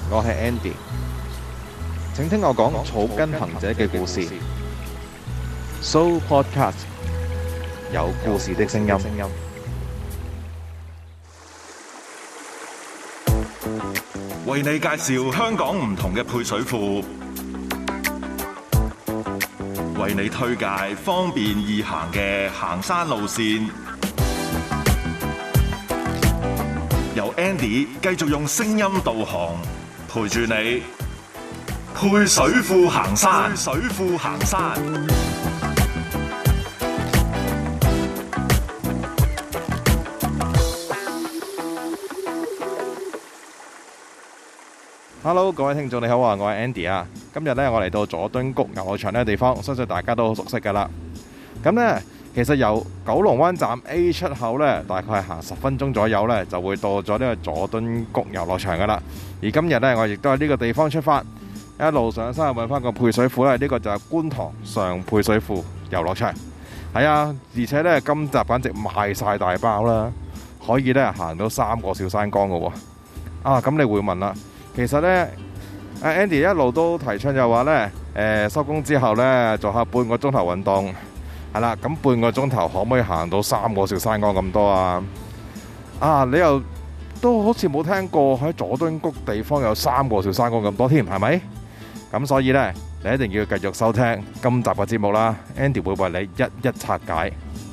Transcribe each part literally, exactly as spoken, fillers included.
我係 Andy，請聽我講草根行者嘅故事。So Podcast 有故事的聲音。 為你介紹香港唔同嘅配水庫，為你推介方便易行嘅行山路線。由 Andy 繼續用聲音導航，陪住你配水庫行山。配水庫行山。 Hello， 各位聽眾你好啊，我係 Andy 啊。今日咧我嚟到佐敦谷遊樂場呢個地方，相信大家都好熟悉噶啦。咁呢，其實由九龍灣站 A 出口呢，大概係行十分鐘左右呢，就會到咗呢個佐敦谷遊樂場噶啦。而今日呢，我亦都喺呢個地方出發，一路上山去揾翻個配水庫呢。呢個就係觀塘上配水庫遊樂場。係啊，而且呢，今集簡直賣晒大包啦，可以呢行到三個小山崗噶喎。啊，咁你會問啦？其實呢，阿 Andy 一路都提倡就話呢，誒收工之後呢，做下半個鐘頭運動，係啦。咁半個鐘頭可唔可以行到三個小山崗咁多啊？啊，你又都好似冇聽過喺佐敦谷地方有三個小山崗咁多添，係咪？咁所以呢，你一定要繼續收聽今集嘅節目啦。Andy 會為你一一拆解。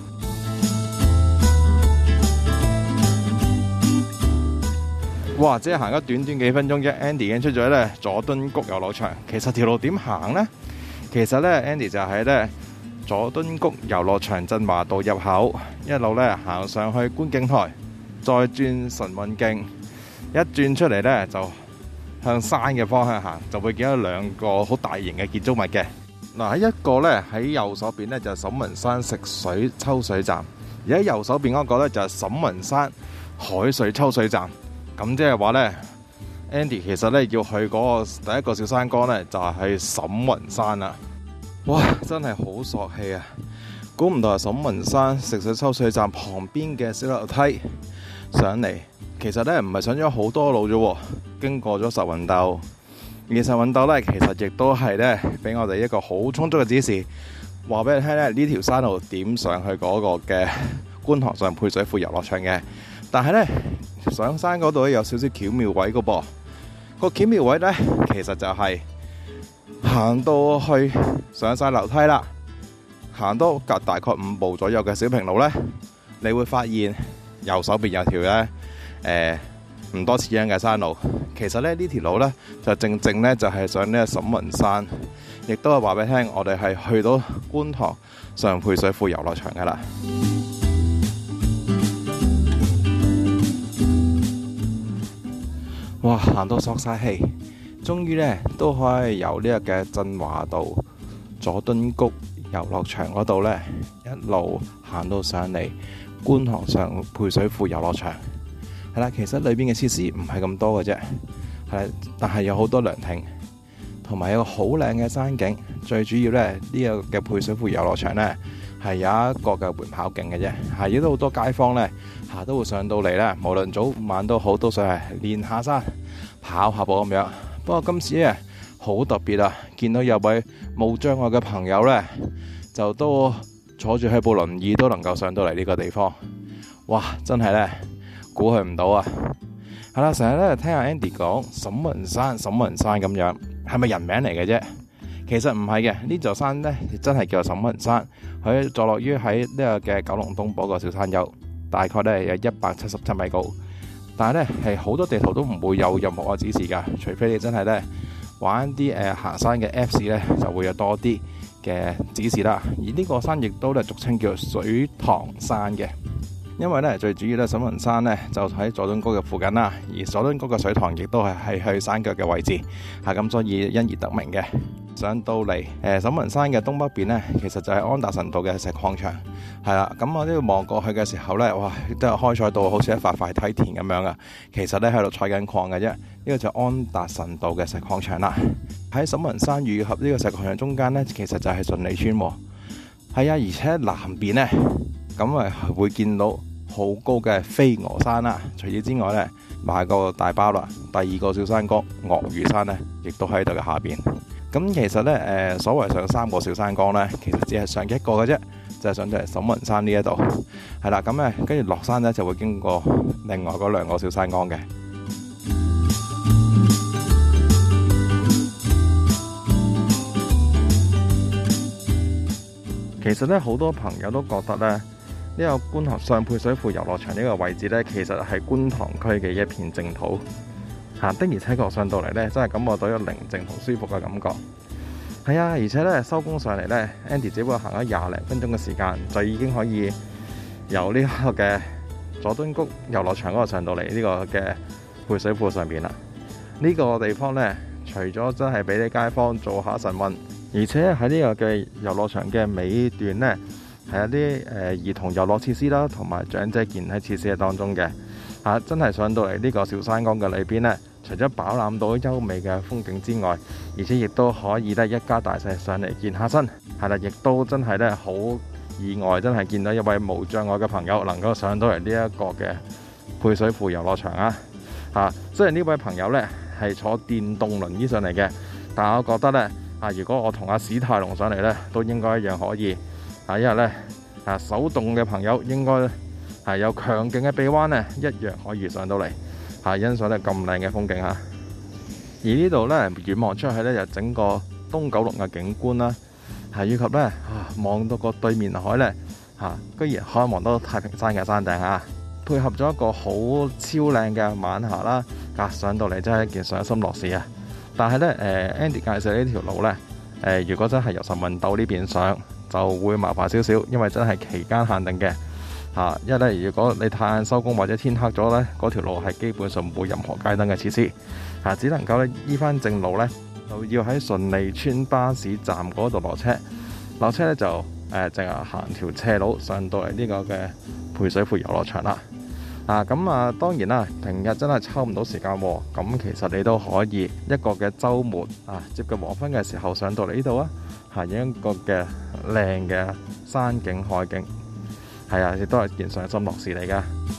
哇！即係行咗短短幾分鐘啫 ，Andy 已經出咗咧佐敦谷遊樂場。其實條路點行呢？其實咧 ，Andy 就喺咧佐敦谷遊樂場振華道入口，一路咧行上去觀景台，再轉晨運徑，一轉出嚟咧就向山嘅方向行，就會見到兩個好大型嘅建築物嘅。嗱，喺一個咧喺右手邊咧就係沈雲山食水抽水站，而喺右手邊嗰個咧就係沈雲山海水抽水站。咁即係話呢 Andy 其實呢要去嗰個第一個小山崗呢，就係去沈雲山啦。哇，真係好索氣啊！估唔到係沈雲山食水抽水站旁邊嘅小樓梯上嚟，其實呢唔係上咗好多路啫，經過咗實運道。而實運道呢，其實亦都係呢俾我哋一個好充足嘅指示，話俾你聽呢呢條山路點上去嗰個嘅觀塘上配水庫遊樂場嘅。但係呢，上山嗰度咧有少少巧妙位噶噃，個巧妙位呢，其實就係行到去上晒樓梯啦，行到隔大概五步左右嘅小平路呢，你會發現右手邊有條呢誒唔多似樣嘅山路。其實咧呢條路呢，就正正呢，就係上呢個沈雲山，亦都係話俾你聽，我哋係去到觀塘上配水庫遊樂場噶啦。哇！行到索晒氣，終於呢都可以由呢個嘅振華道佐敦谷遊樂場嗰度呢，一路行到上嚟觀塘上配水庫遊樂場。係啦，其實裏邊嘅設施唔係咁多嘅啫，係，但係有好多涼亭，同埋有個好靚嘅山景。最主要呢，呢、呢個嘅配水庫遊樂場呢，係有一個嘅緩跑徑嘅啫，係亦都好多街坊呢，下都會上到嚟呢，無論早晚都好，都想係練下山、跑下步咁樣。不過今次呢，好特別啊，見到有位冇障礙嘅朋友呢，就都坐住喺部輪椅都能夠上到嚟呢個地方。哇！真係呢，估佢唔到啊！係啦，成日咧聽阿 Andy 講沈雲山、沈雲山咁樣，係咪人名嚟嘅啫？其實唔係嘅，呢座山呢，真係叫做沈雲山。佢坐落於喺呢個嘅九龍東部個小山丘，大概呢有一百七十七米高。但係呢，係好多地圖都唔會有任何嘅指示㗎，除非你真係呢玩啲誒、呃、行山嘅 Apps 呢，就會有多啲嘅指示啦。而呢個山亦都咧俗稱叫做水塘山嘅。因為咧最主要咧沈雲山咧就喺佐敦谷嘅附近啦，而佐敦谷嘅水塘亦都係係去山腳嘅位置，係咁所以因而得名嘅。上到嚟誒沈雲山嘅東北邊咧，其實就係安達臣道嘅石礦場，係啦。咁我呢度望過去嘅時候咧，哇，都係開採到好似一塊塊梯田咁樣啊。其實咧喺度採緊礦嘅啫。呢個就係安達臣道嘅石礦場啦。喺沈雲山與合呢個石礦場中間咧，其實就係順利村。係啊，而且南邊咧。咁啊，會見到好高嘅飛鵝山啦。除此之外咧， 買個大包啦。第二個小山崗鱷魚山呢，亦都喺度嘅下邊。咁其實呢，誒、呃、所謂上三個小山崗呢，其實只係上一個嘅啫，就係、是、上到嚟沈雲山呢一度。係啦，咁咧跟住落山呢，就會經過另外嗰兩個小山崗嘅。其實咧，好多朋友都覺得咧，呢、這個觀塘上配水庫遊樂場呢個位置咧，其實係觀塘區嘅一片淨土。嚇、啊、的而且確上到嚟咧，真係感覺到有寧靜同舒服嘅感覺。係啊，而且咧收工上嚟咧 ，Andy 只不過行咗廿零分鐘嘅時間，就已經可以由呢個嘅佐敦谷遊樂場嗰度上到嚟呢個嘅配水庫上邊啦。呢、這個地方咧，除咗真係俾啲街坊做下晨運，而且喺呢個嘅遊樂場嘅尾段呢，係一啲誒兒童遊樂設施啦，同埋長者健體設施喺當中嘅。嚇、啊，真係上到嚟呢個小山崗嘅裏邊呢，除咗飽覽到優美嘅風景之外，而且亦都可以咧一家大細上嚟健下身。係啦，亦都真係咧好意外，真係見到一位無障礙嘅朋友能夠上到嚟呢一個嘅配水庫遊樂場啊！嚇、啊，雖然呢位朋友呢係坐電動輪椅上嚟嘅，但係我覺得呢。啊！如果我同阿史泰龍上嚟呢，都應該一樣可以。啊，因為呢，啊手動嘅朋友應該係有強勁嘅臂彎呢，一樣可以上到嚟，啊欣賞呢咁靚嘅風景嚇。而呢度呢，遠望出去呢，就整個東九龍嘅景觀啦，係以及呢，啊望到個對面海呢，嚇、啊、居然可以望到太平山嘅山頂嚇，配合咗一個好超靚嘅晚霞啦，啊上到嚟真係一件賞心樂事啊！但係咧，誒 Andy 介紹呢條路咧，誒、呃、如果真係由晨運道呢邊上，就會麻煩少少，因為真係期間限定嘅嚇、啊。因為咧，如果你太晏收工或者天黑咗咧，嗰條路係基本上冇任何街燈嘅設施嚇、啊，只能夠咧依翻正路咧，就要喺順利村巴士站嗰度落車，落車咧就誒淨係行條斜路上到嚟呢個嘅配水庫遊樂場啦。啊，咁啊，當然啦，平日真係抽唔到時間喎。咁其實你都可以一個嘅週末啊，接近黃昏嘅時候上到嚟呢度啊，行一個嘅靚嘅山景海景，係啊，亦都係件賞心樂事嚟㗎。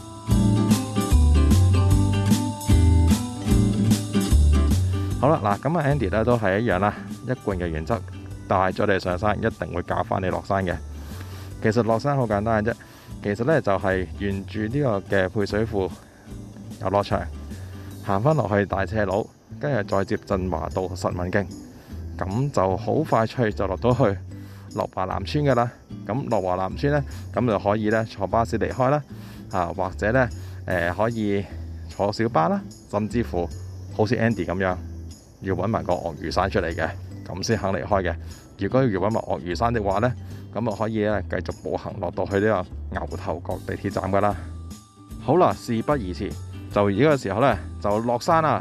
好啦，嗱，咁啊 Andy 咧都係一樣啦，一貫嘅原則，帶咗你上山，一定會教翻你落山嘅。其實落山好簡單嘅啫。其實咧就係沿住呢個嘅配水庫遊樂場行翻落去大斜路，跟住再接振華道實文徑，咁就好快脆就落到去樂華南村噶啦。咁樂華南村咧，咁就可以咧坐巴士離開啦，啊或者咧誒、呃、可以坐小巴啦，甚至乎好似 Andy 咁樣要揾埋個鱷魚山出嚟嘅，咁先肯離開嘅。如果要揾埋鱷魚山的話咧，咁啊可以咧繼續步行落到去呢個牛頭角地鐵站噶啦。好啦，事不宜遲，就而家嘅時候咧就落山啦。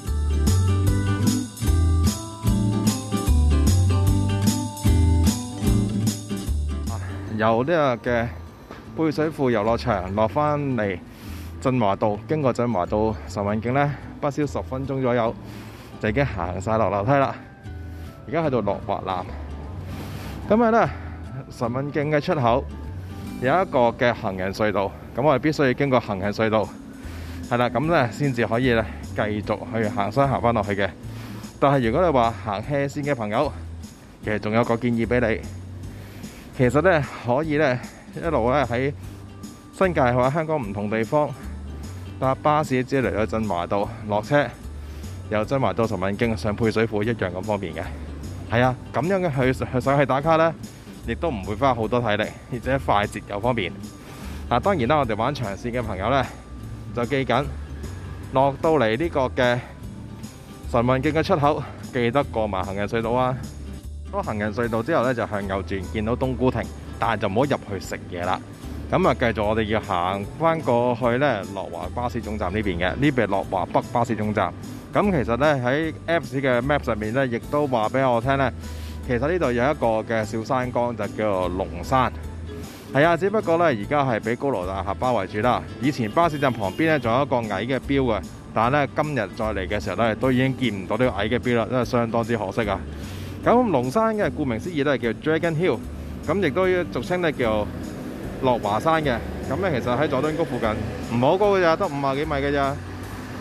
由呢個嘅配水庫遊樂場落翻嚟振華道，經過振華道晨運徑咧，不消十分鐘左右就已經行晒落樓梯啦。而家喺度樂華南，咁啊咧晨運徑嘅出口有一個嘅行人隧道，咁我哋必須要經過行人隧道，係啦，咁咧先至可以咧繼續去行山行翻落去嘅。但係如果你話行斜線嘅朋友，其實仲有個建議俾你，其實咧可以咧一路咧喺新界或者香港唔同地方搭巴士之嚟到振華道落車，由振華道晨運徑上配水庫一樣咁方便嘅。係啊，咁樣嘅去去上去打卡咧，亦都唔會花好多體力，而且快捷又方便。嗱，當然啦，我哋玩長線嘅朋友咧，就記緊落到嚟呢個嘅晨運徑嘅出口，記得過埋行人隧道啊！過行人隧道之後咧，就向右轉，見到冬菇亭，但係就唔好入去食嘢啦。咁啊，繼續我哋要行翻過去咧，樂華巴士總站呢邊嘅，呢邊係樂華北巴士總站。咁其實咧喺 Apps 嘅 Map 上面咧，亦都話俾我聽咧，其實呢度有一個嘅小山崗就叫做龍山。係啊，只不過咧而家係俾高樓大廈包圍住啦。以前巴士站旁邊咧仲有一個矮嘅標嘅，但係咧今日再嚟嘅時候咧，都已經見唔到呢個矮嘅標啦，真係相當之可惜啊！咁龍山嘅顧名思義都係叫 Dragon Hill， 咁亦都俗稱咧叫樂華山嘅。咁咧其實喺佐敦谷附近唔好高嘅咋，得五十幾米嘅咋。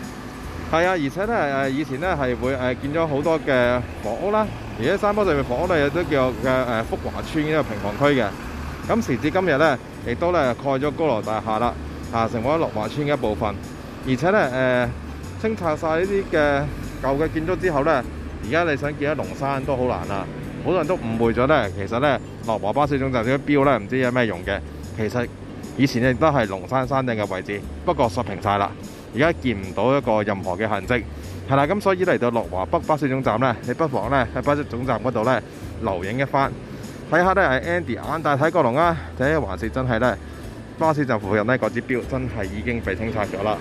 係啊，而且咧誒以前咧係會誒建咗好多嘅房屋啦，而且山坡上面房屋咧亦都叫嘅誒福華村呢個平房區嘅。咁時至今日咧，亦都咧蓋咗高樓大廈啦，啊成為咗樂華村嘅一部分。而且咧誒、呃、清拆晒呢啲嘅舊嘅建築之後咧，而家你想見到龍山都好難啦。好多人都誤會咗咧，其實咧樂華巴士總站呢個標咧唔知有咩用嘅，其實以前亦都係龍山山頂嘅位置，不過削平晒啦。而家見唔到一個任何嘅痕跡，係啦，咁所以嚟到樂華北巴士總站呢，你不妨呢喺巴士總站嗰度呢留影一番，睇下呢係 Andy 眼大睇過龍啊，定係還是真係呢巴士站附近呢嗰支標真係已經被清拆咗啦。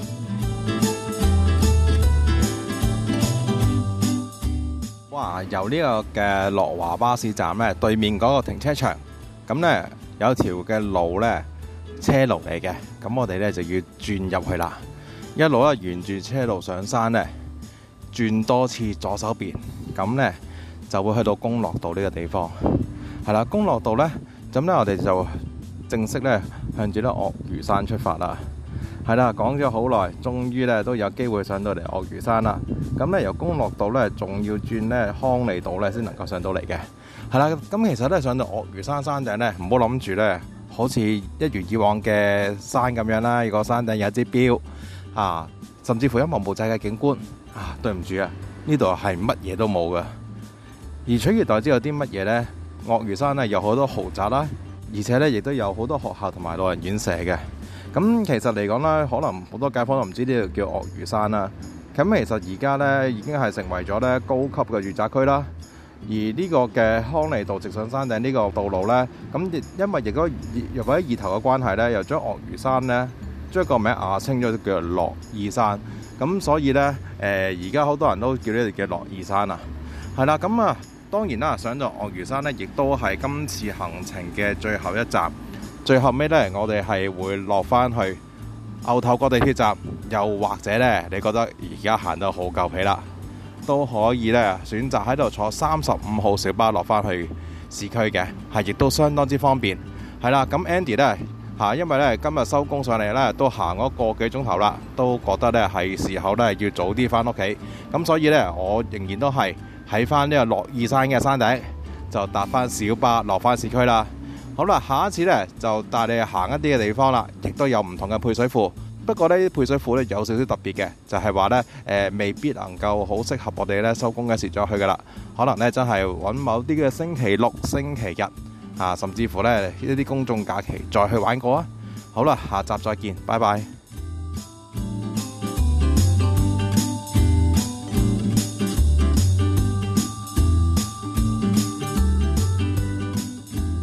哇！由呢個嘅樂華巴士站呢對面嗰個停車場，咁呢有條嘅路呢，車路嚟嘅，咁我哋呢就要轉入去啦。一路咧沿住車路上山咧，轉多次左手邊，咁咧就會去到公樂道呢個地方。係啦，公樂道咧，咁咧我哋就正式咧向住咧鱷魚山出發啦。係啦，講咗好耐，終於咧都有機會上到嚟鱷魚山啦。咁咧由公樂道咧，仲要轉咧康利道咧，先能夠上到嚟嘅。係啦，咁其實咧上到鱷魚山山頂咧，唔好諗住咧，好似一如以往嘅山咁樣啦。如果山頂有一支標。啊，甚至乎一望無際嘅景觀啊，對唔住啊，呢度係乜嘢都冇嘅。而取而代之有啲乜嘢呢？鱷魚山呢有好多豪宅啦，而且呢亦都有好多學校同埋老人院舍嘅。咁其實嚟講呢，可能好多街坊都唔知呢度叫鱷魚山啦。咁其實而家呢已經係成為咗呢高級嘅住宅區啦。而呢個嘅康利道直上山頂呢個道路呢，咁亦因為亦都若果意頭嘅關係呢，又將鱷魚山呢。將個名亞稱咗叫做樂意山，咁所以呢，誒而家好多人都叫呢度叫樂意山啊，係啦，咁啊當然啦，上到鱷魚山呢，亦都係今次行程嘅最後一站，最後尾呢，我哋係會落翻去牛頭角地鐵站，又或者呢，你覺得而家行得好夠皮啦，都可以呢選擇喺度坐三十五號小巴落翻去市區嘅，係亦都相當之方便，係啦，咁 Andy 呢。嚇，因為咧今日收工上嚟咧都行咗個幾鐘頭啦，都覺得咧係時候咧要早啲翻屋企，咁所以咧我仍然都係喺翻呢個樂意山嘅山頂，就搭翻小巴落翻市區啦。好啦，下一次咧就帶你行一啲嘅地方啦，亦都有唔同嘅配水庫。不過呢啲配水庫咧有少少特別嘅，就係話咧誒未必能夠好適合我哋咧收工嘅時再去噶啦，可能咧真係揾某啲嘅星期六、星期日。啊，甚至乎呢一啲公眾假期再去玩過啊！好啦，下集再見，拜拜。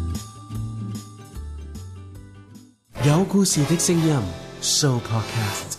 有故事的聲音 Show Podcast。